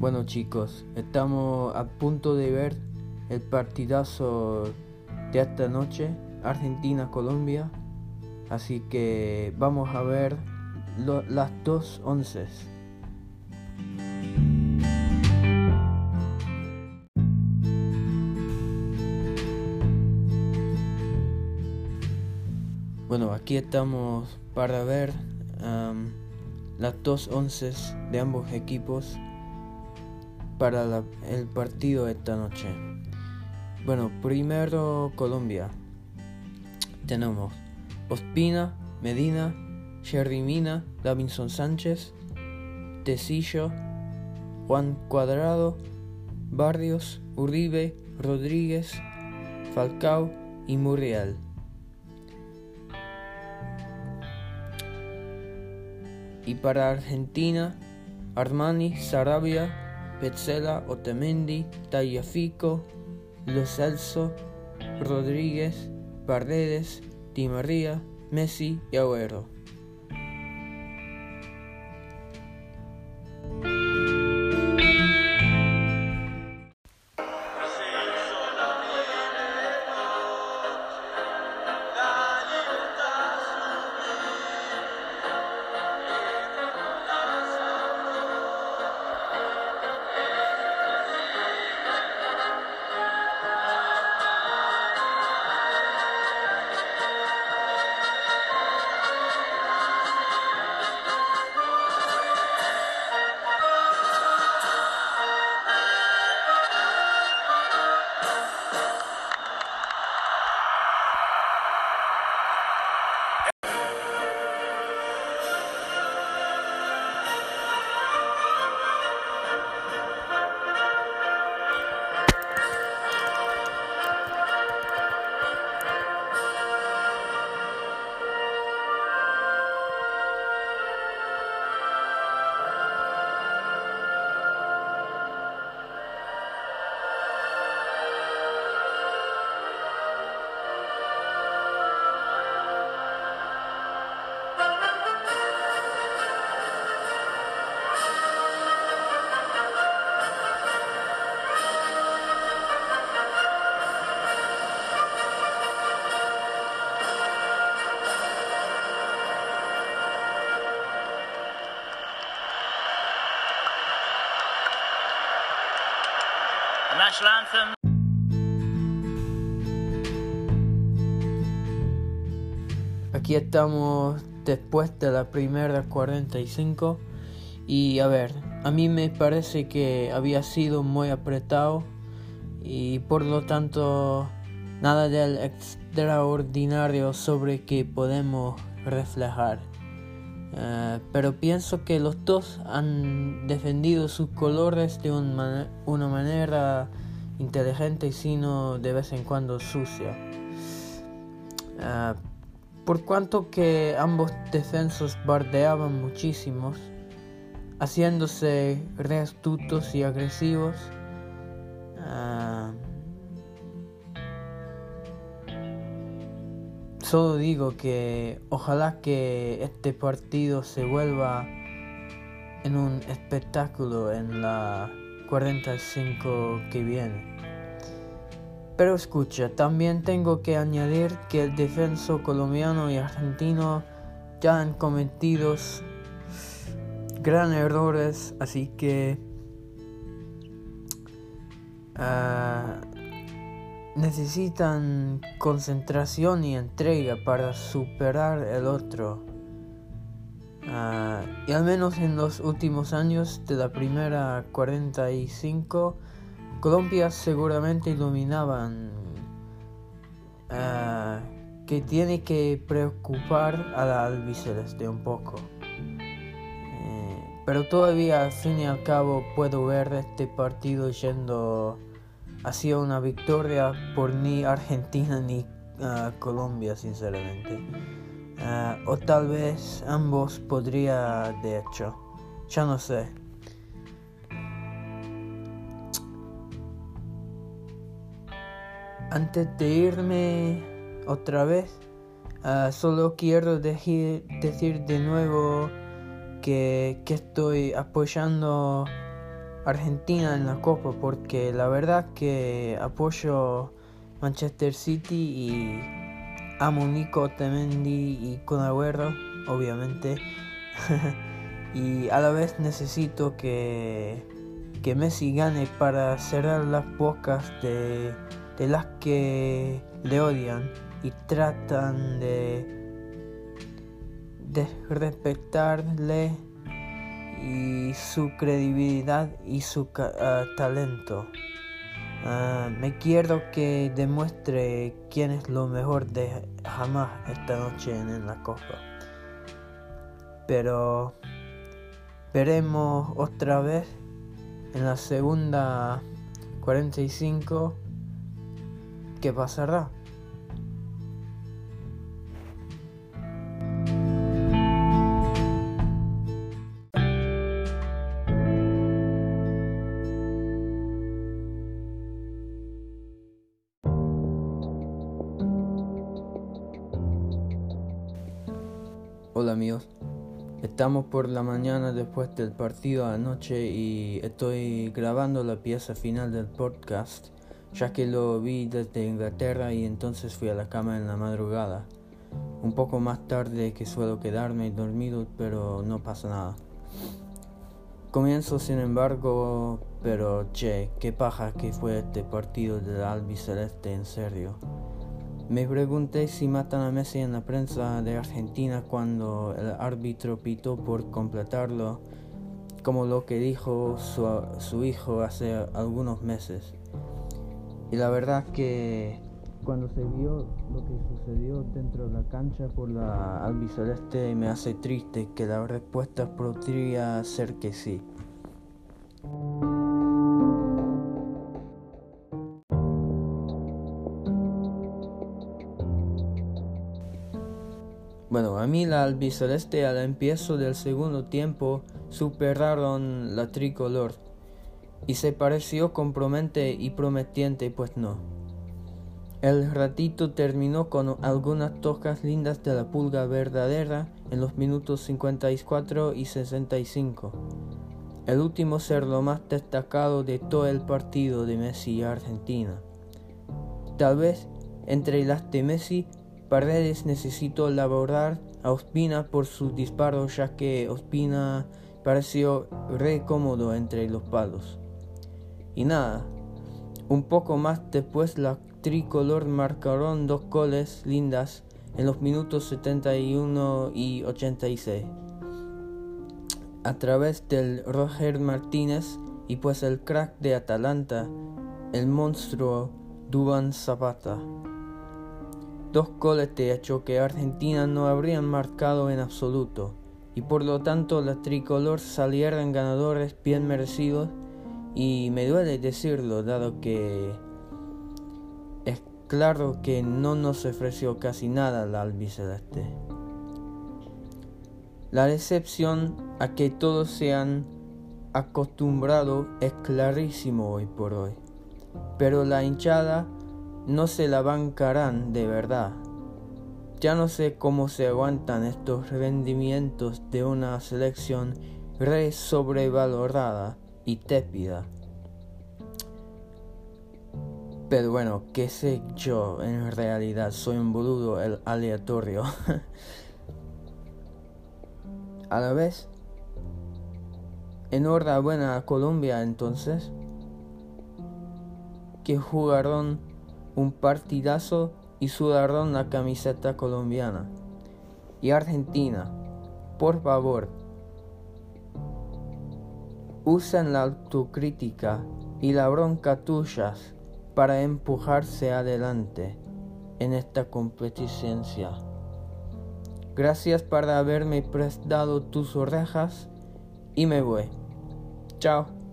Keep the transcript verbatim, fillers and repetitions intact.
Bueno chicos, estamos a punto de ver el partidazo de esta noche, Argentina-Colombia. Así que vamos a ver lo, las dos once. Bueno, aquí estamos para ver um, las dos once de ambos equipos para la, el partido de esta noche. Bueno, primero Colombia. Tenemos Ospina, Medina, Yerry Mina, Davinson Sánchez, Tecillo, Juan Cuadrado, Barrios, Uribe, Rodríguez, Falcao y Muriel. Y para Argentina, Armani, Sarabia, Petzela, Otamendi, Tagliafico, Lo Celso, Rodríguez, Paredes, Di María, Messi y Agüero. National anthem. Aquí estamos después de la primera cuarenta y cinco y a ver, a mí me parece que había sido muy apretado y por lo tanto nada del extraordinario sobre que podemos reflejar. Uh, pero pienso que los dos han defendido sus colores de un man- una manera inteligente y sino de vez en cuando sucia. Uh, por cuanto que ambos defensores bardeaban muchísimos, haciéndose re astutos y agresivos, uh, solo digo que ojalá que este partido se vuelva en un espectáculo en la cuarenta y cinco que viene. Pero escucha, también tengo que añadir que el defensor colombiano y argentino ya han cometido gran errores, así que uh, necesitan concentración y entrega para superar el otro. Uh, y al menos en los últimos años de la primera cuarenta y cinco, Colombia seguramente dominaban, uh, que tiene que preocupar a la albiceleste un poco. Eh, pero todavía al fin y al cabo puedo ver este partido yendo hacia una victoria por ni Argentina ni uh, Colombia, sinceramente. Uh, o tal vez ambos podría, de hecho, ya no sé. Antes de irme otra vez, uh, solo quiero decir, decir de nuevo que, que estoy apoyando Argentina en la Copa, porque la verdad que apoyo Manchester City y amo Nico Otamendi y Kun Agüero, obviamente. Y a la vez necesito que, que Messi gane para cerrar las bocas de, de las que le odian y tratan de, de respetarle y su credibilidad y su uh, talento. Uh, me quiero que demuestre quién es lo mejor de jamás esta noche en, en la Copa. Pero veremos otra vez en la segunda cuarenta y cinco qué pasará. Hola amigos, estamos por la mañana después del partido anoche y estoy grabando la pieza final del podcast, ya que lo vi desde Inglaterra y entonces fui a la cama en la madrugada. Un poco más tarde que suelo quedarme dormido, pero no pasa nada. Comienzo sin embargo, pero che, qué paja que fue este partido del albiceleste, en serio. Me pregunté si matan a Messi en la prensa de Argentina cuando el árbitro pitó por completarlo, como lo que dijo su, su hijo hace algunos meses. Y la verdad que cuando se vio lo que sucedió dentro de la cancha por la albiceleste me hace triste que la respuesta podría ser que sí. Bueno, a mí la albiceleste al empiezo del segundo tiempo superaron la tricolor y se pareció compromete y prometiente, pues no. El ratito terminó con algunas toques lindas de la pulga verdadera en los minutos cincuenta y cuatro y sesenta y cinco. El último ser lo más destacado de todo el partido de Messi y Argentina. Tal vez entre las de Messi, Paredes necesitó elaborar a Ospina por sus disparos, ya que Ospina pareció re cómodo entre los palos. Y nada, un poco más después la tricolor marcaron dos goles lindas en los minutos setenta y uno y ochenta y seis. A través del Roger Martínez y pues el crack de Atalanta, el monstruo Duván Zapata. Dos goles de hecho que Argentina no habrían marcado en absoluto, y por lo tanto la tricolor salieron ganadores bien merecidos, y me duele decirlo dado que es claro que no nos ofreció casi nada la albiceleste. La decepción a que todos se han acostumbrado es clarísimo hoy por hoy, pero la hinchada no se la bancarán de verdad. Ya no sé cómo se aguantan estos rendimientos de una selección re sobrevalorada y tépida. Pero bueno, qué sé yo, en realidad soy un boludo el aleatorio. A la vez, enhorabuena a Colombia entonces, que jugaron un partidazo y sudaron la camiseta colombiana. Y Argentina, por favor, usen la autocrítica y la bronca tuyas para empujarse adelante en esta competición. Gracias por haberme prestado tus orejas y me voy. Chao.